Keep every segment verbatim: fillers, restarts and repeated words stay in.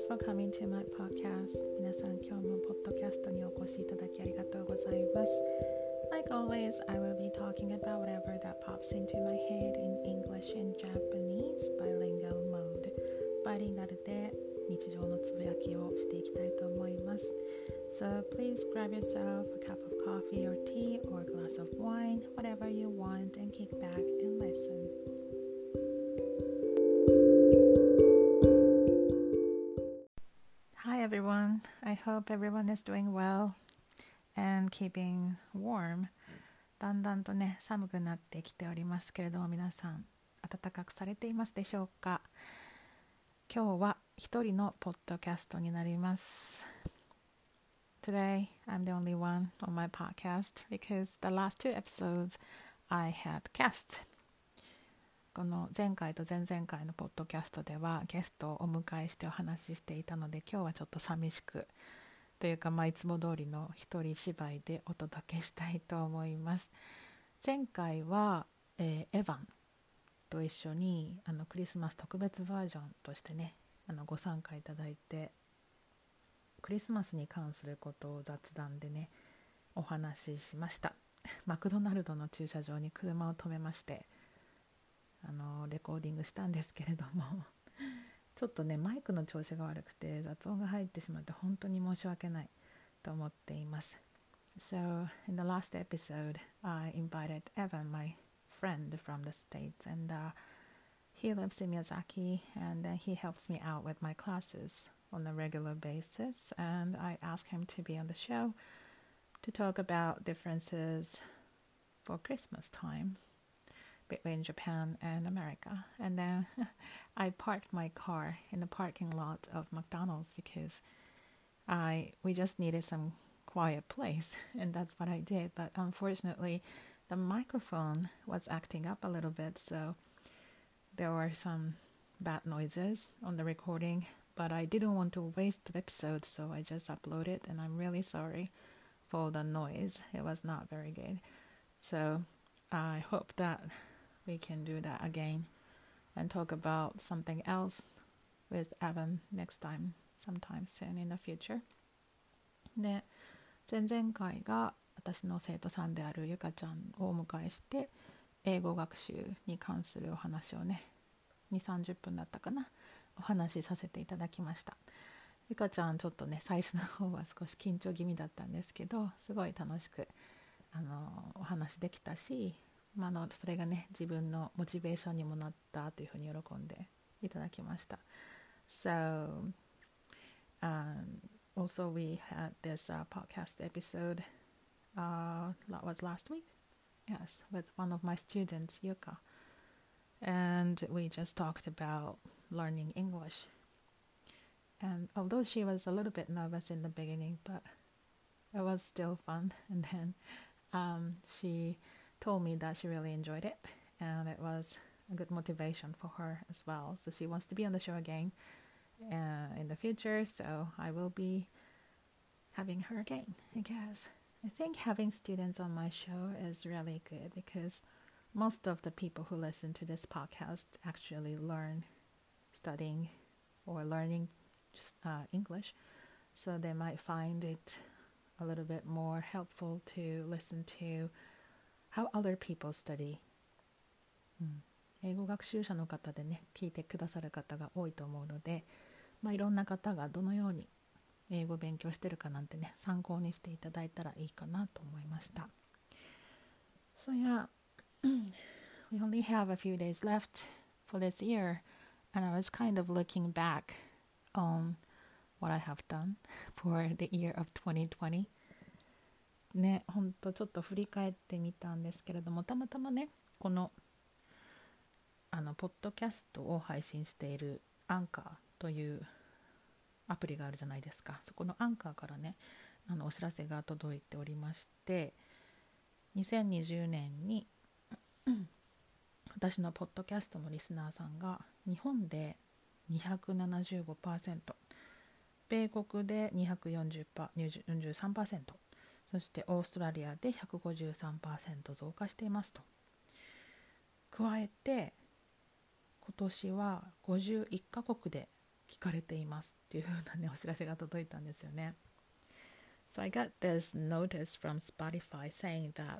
Thanks for coming to my podcast. 皆さん、今日もポッドキャストにお越しいただきありがとうございます。Like always, I will be talking about whatever that pops into my head in English and Japanese bilingual mode. バイリンガルで日常のつぶやきをしていきたいと思います。So please grab yourself a cup of coffee or tea or a glass of wine, whatever you want, and kick back and listen.Hi everyone, I hope everyone is doing well and keeping warm. だんだんとね、寒くなってきておりますけれども、皆さん暖かくされていますでしょうか。今日は一人のポッドキャストになります。Today, I'm the only one on my podcast because the last two episodes I had guests.この前回と前々回のポッドキャストではゲストをお迎えしてお話ししていたので、今日はちょっと寂しくというか、まあ、いつも通りの一人芝居でお届けしたいと思います。前回は、えー、エヴァンと一緒にあのクリスマス特別バージョンとしてね、あのご参加いただいて、クリスマスに関することを雑談でねお話ししました。マクドナルドの駐車場に車を止めましてあのレコーディングしたんですけれどもちょっとねマイクの調子が悪くて雑音が入ってしまって本当に申し訳ないと思っています。 So in the last episode I invited Evan, my friend from the States, and、uh, he lives in Miyazaki and uh, he helps me out with my classes on a regular basis, and I asked him to be on the show to talk about differences for Christmas time between Japan and America. And then I parked my car in the parking lot of McDonald's because I we just needed some quiet place, and that's what I did. But unfortunately, the microphone was acting up a little bit, so there were some bad noises on the recording, but I didn't want to waste the episode, so I just uploaded, and I'm really sorry for the noise. It was not very good. So I hope that we can do that again and talk about something else with Evan next time, sometime soon in the future. で、前々回が私の生徒さんであるゆかちゃんをお迎えして英語学習に関するお話をねにじゅうさんじゅっぷんだったかなお話しさせていただきました。ゆかちゃんちょっとね最初の方は少し緊張気味だったんですけど、すごい楽しくあのお話できたし、まあ、のそれがね自分のモチベーションにもなったというふうに喜んでいただきました。 So、um, also we had this、uh, podcast episode、uh, that was last week, yes, with one of my students, Yuka, and we just talked about learning English. And although she was a little bit nervous in the beginning, but it was still fun. And then um, she told me that she really enjoyed it, and it was a good motivation for her as well. So she wants to be on the show again uh, in the future. So I will be having her again, I guess. I think having students on my show is really good because most of the people who listen to this podcast actually learn studying or learning uh, English. So they might find it a little bit more helpful to listen to how other people study、うん、英語学習者の方でね聞いてくださる方が多いと思うので、まあ、いろんな方がどのように英語を勉強してるかなんてね参考にしていただいたらいいかなと思いました。 So yeah, we only have a few days left for this year, and I was kind of looking back on what I have done for the year of twenty twentyね、ほんとちょっと振り返ってみたんですけれども、たまたまねこのあのポッドキャストを配信しているアンカーというアプリがあるじゃないですか。そこのアンカーからねあのお知らせが届いておりまして、にせんにじゅうねんに私のポッドキャストのリスナーさんが日本で にひゃくななじゅうごパーセント、 米国で にひゃくよんじゅうさんパーセント、そしてオーストラリアで ひゃくごじゅうさんパーセント 増加していますと。加えて今年はごじゅういっカ国で聞かれていますっていう風なねお知らせが届いたんですよね。So I got this notice from Spotify saying that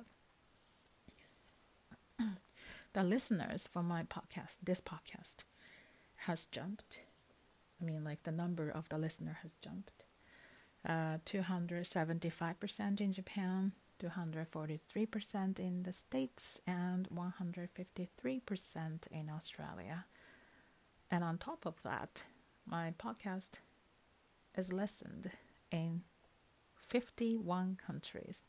the listeners for my podcast, this podcast, has jumped. I mean, like the number of the listener has jumped. Uh, two hundred seventy-five percent in Japan, two hundred forty-three percent in the States, and one hundred fifty-three percent in Australia. And on top of that, my podcast is listened in fifty-one countries.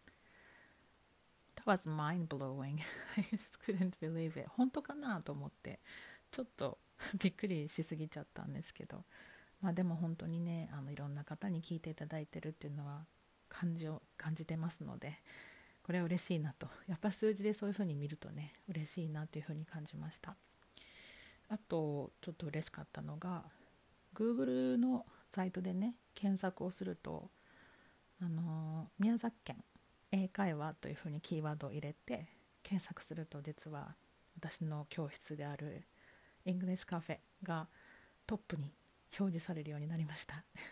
That was mind-blowing. I just couldn't believe it. 本当かなと思ってちょっとびっくりしすぎちゃったんですけど、まあでも本当にね、あのいろんな方に聞いていただいてるっていうのは感じを感じてますので、これは嬉しいなと。やっぱ数字でそういう風に見るとね、嬉しいなという風に感じました。あとちょっと嬉しかったのが Google のサイトでね検索をすると、あの宮崎県英会話というふうにキーワードを入れて検索すると、実は私の教室である English Cafe がトップに表示されるようになりました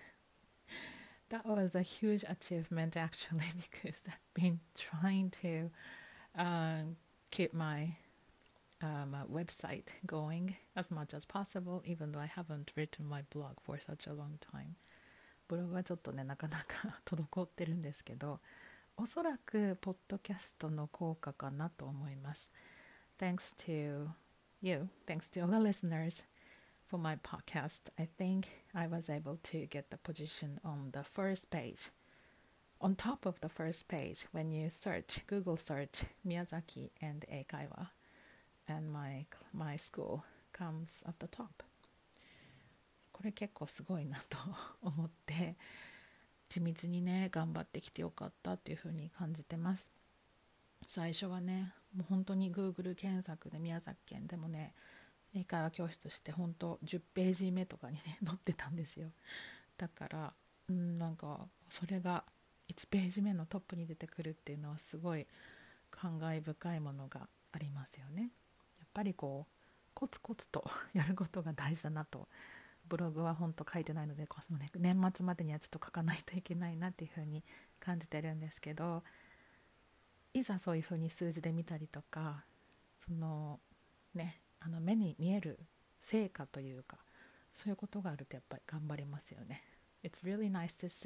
。That was a huge achievement actually, because I've been trying to uh, keep my um, uh, website going as much as possible, even though I haven't written my blog for such a long time. ブログはちょっとねなかなか滞ってるんですけど、おそらくポッドキャストの効果かなと思います。Thanks to you, thanks to all the listeners for my podcast, I think I was able to get the position on the first page, on top of the first page when you search, Google search Miyazaki and Eikaiwa, and my, my school comes at the top. これ結構すごいなと思って地道にね頑張ってきてよかったっていう風に感じてます。最初はねもう本当に Google 検索で宮崎県でもね英会話教室して本当じゅっページ目とかにね載ってたんですよ。だからうんなんかそれがいちページ目のトップに出てくるっていうのはすごい感慨深いものがありますよね。やっぱりこうコツコツとやることが大事だなと。ブログは本当書いてないので、ね、年末までにはちょっと書かないといけないなっていう風に感じてるんですけど、いざそういう風に数字で見たりとか、そのねあの目に見える成果というかそういうことがあるとやっぱり頑張れますよね。It's really nice to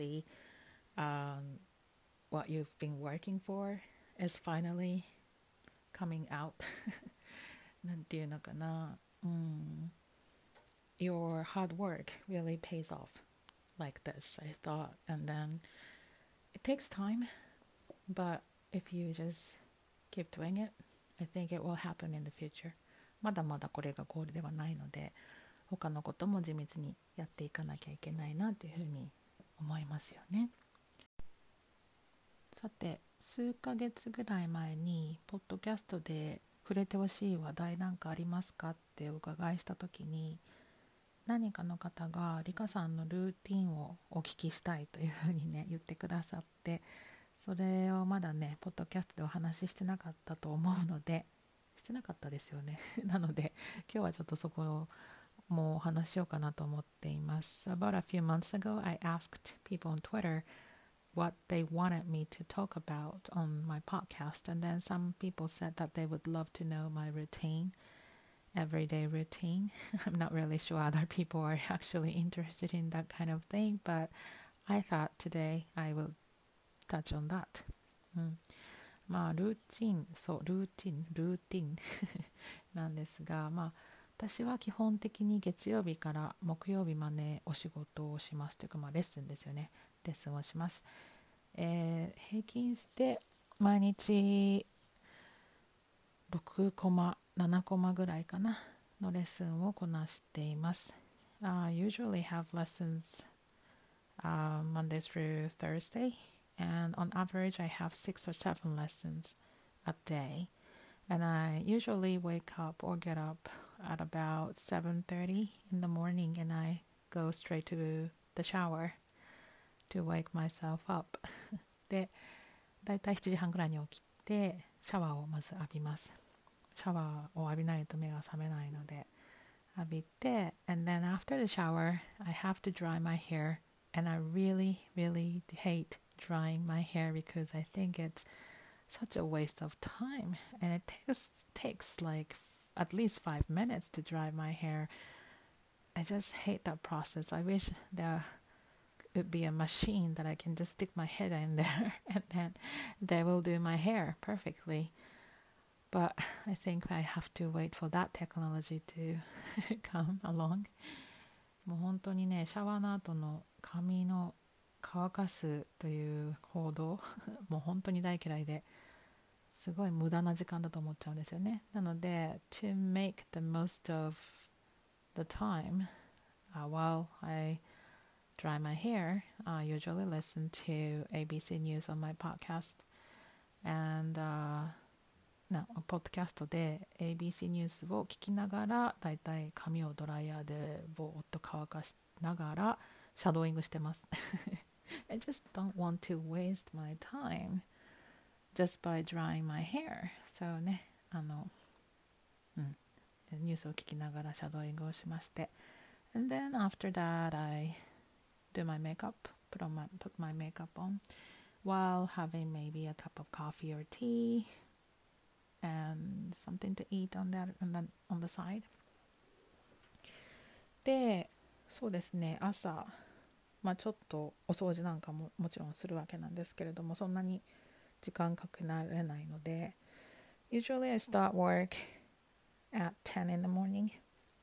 see、um, what you've been working for is finally coming out なんていうのかな、うんYour hard work really pays off like this, I thought. And then it takes time, but if you just keep doing it, I think it will happen in the future. まだまだこれがゴールではないので、他のことも地道にやっていかなきゃいけないなというふうに思いますよね。さて、数ヶ月ぐらい前にポッドキャストで触れてほしい話題なんかありますかってお伺いしたときに、何かの方がリカさんのルーティンをお聞きしたいというふうにね言ってくださって、それをまだねポッドキャストでお話ししてなかったと思うので、してなかったですよねなので今日はちょっとそこをもうお話ししようかなと思っています。 About a few months ago, I asked people on Twitter what they wanted me to talk about on my podcast, and then some people said that they would love to know my routine,everyday routine. I'm not really sure other people are actually interested in that kind of thing, but I thought today I will touch on that. うん、まあルーティン、そうルーティン、ルーティンなんですが、まあ私は基本的に月曜日から木曜日までお仕事をしますというか、まあレッスンですよね。レッスンをします。えー、平均して毎日ろくコマななコマぐらいかなのレッスンをこなしています。I usually have lessons、uh, Monday through Thursday, and on average I have six or seven lessons a day, and I usually wake up or get up at about seven thirty in the morning, and I go straight to the shower to wake myself up で、だいたいしちじはんぐらいに起きてシャワーをまず浴びます。シャワーを浴びないと目が覚めないので浴びて and then after the shower I have to dry my hair and I really really hate drying my hair because I think it's such a waste of time and it takes takes like at least five minutes to dry my hair. I just hate that process. I wish there would be a machine that I can just stick my head in there and then they will do my hair perfectly. But I think I have to wait for that technology to come along. もう本当にね、シャワーの後の髪の乾かすという行動もう本当に大嫌いですごい無駄な時間だと思っちゃうんですよね。なので to make the most of the time、uh, while I dry my hair, I usually listen to エービーシー News on my podcast and、uh, なポッドキャストで エービーシー ニュースを聞きながらだいたい髪をドライヤーでぼーっと乾かしながらシャドーイングしてますI just don't want to waste my time just by drying my hair. So ね、あの、うん、ニュースを聞きながらシャドーイングをしまして and then after that I do my makeup, put on my, put my makeup on while having maybe a cup of coffee or tea and something to eat on that on the, on the side で、そうですね、朝まあちょっとお掃除なんかももちろんするわけなんですけれども、そんなに時間かけられないので usually I start work at ten in the morning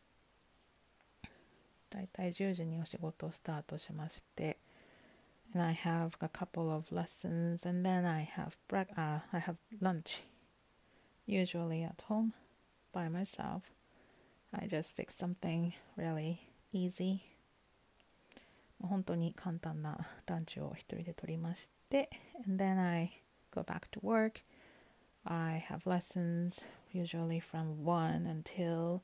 だいたいじゅうじにお仕事をスタートしまして and I have a couple of lessons and then I have, bre-、uh, I have lunch usually at home by myself. I just fix something really easy. 本当に簡単なランチを一人で取りまして and then I go back to work. I have lessons usually from one until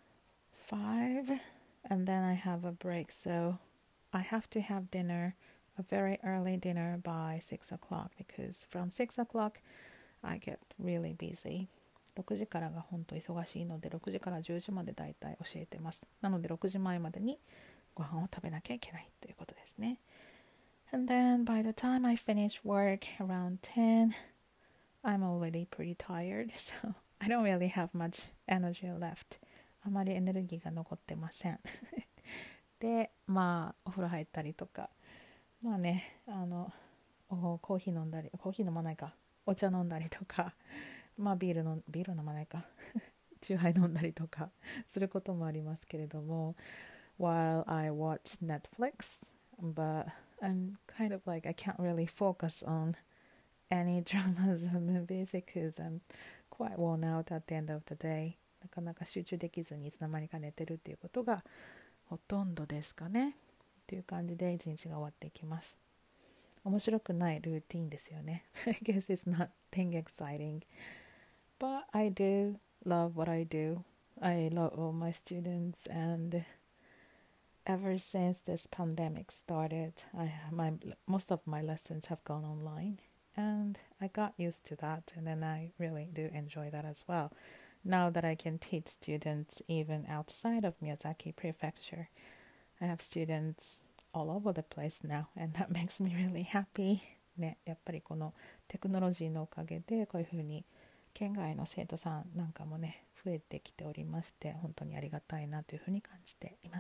five and then I have a break, so I have to have dinner, a very early dinner by six o'clock because from six o'clock I get really busy. ろくじからが本当忙しいのでろくじからじゅうじまでだいたい教えてます。なのでろくじまえまでにご飯を食べなきゃいけないということですね。And then by the time I finish work around ten, I'm already pretty tired, so I don't really have much energy left. あまりエネルギーが残ってません。で、まあお風呂入ったりとか、まあね、あのコーヒー飲んだり、コーヒー飲まないか、お茶飲んだりとか、まあビールのビール飲まないか、チューハイ飲んだりとかすることもありますけれども、while I watch Netflix, but I'm kind of like I can't really focus on any dramas or movies because I'm quite worn out at the end of the day. なかなか集中できずにいつの間にか寝てるっていうことがほとんどですかね。という感じで一日が終わっていきます。面白くないルーティンですよね。I guess it's nothing exciting, but I do love what I do. I love all my students and ever since this pandemic started, I my most of my lessons have gone online, and I got used to that, and then I really do enjoy that as well. Now that I can teach students even outside of Miyazaki Prefecture, I have students all over the place now, and that makes me really happy. ね、やっぱりこのテクノロジーのおかげでこういうふうに県外の生徒さんなんかもね増えてきておりまして、本当にありがたいなというふうに感じています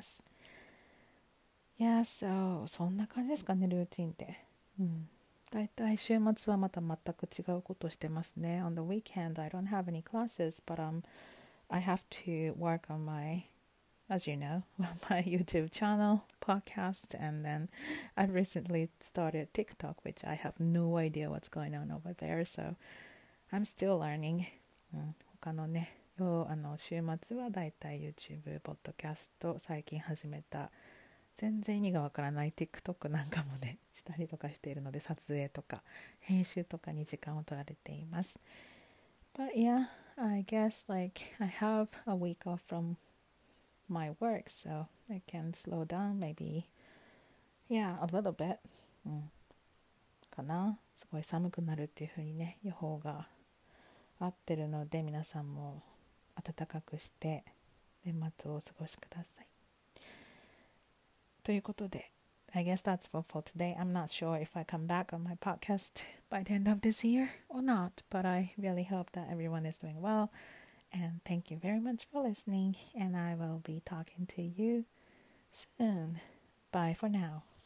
。Yeah, so そんな感じですかね、ルーティンって。うん。だいたい週末はまた全く違うことをしてますね。On the weekend, I don't have any classes, but um, I have to work on my, as you know, my YouTube channel, podcast, and then I've recently started TikTok, which I have no idea what's going on over there, so I'm still learning. うん、他のね、あの週末はだいたい YouTube、ポッドキャスト、最近始めた全然意味がわからない TikTok なんかもねしたりとかしているので、撮影とか編集とかに時間を取られています。But yeah, I guess like I have a week off from my work, so I can slow down maybe, yeah, a little bit、うん、かな。すごい寒くなるっていう風にね予報が合ってるので、皆さんも暖かくして年末をお過ごしください。ということで、I guess that's all for today. I'm not sure if I come back on my podcast by the end of this year or not, but I really hope that everyone is doing well. And thank you very much for listening, and I will be talking to you soon. Bye for now.